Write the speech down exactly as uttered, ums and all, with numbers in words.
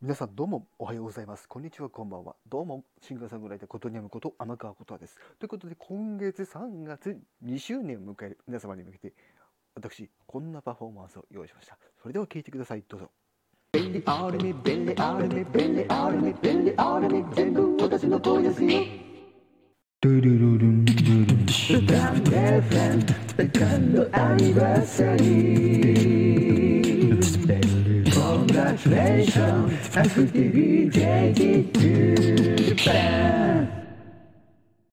皆さんどうもおはようございます。こんにちは、こんばんは。どうもシンガーソングライターことにゃむこと天川ことです。ということで今月さんがつにしゅうねんを迎える皆様に向けて私こんなパフォーマンスを用意しました。それでは聴いてください。どうぞ。便利あるね便利あるね便利あるね便利あるね全部私の声ですよ。ドゥルルルンドゥルンダンデフェンセカンドアニバーサリーCongratulations, I'm fifty, take it to Japan.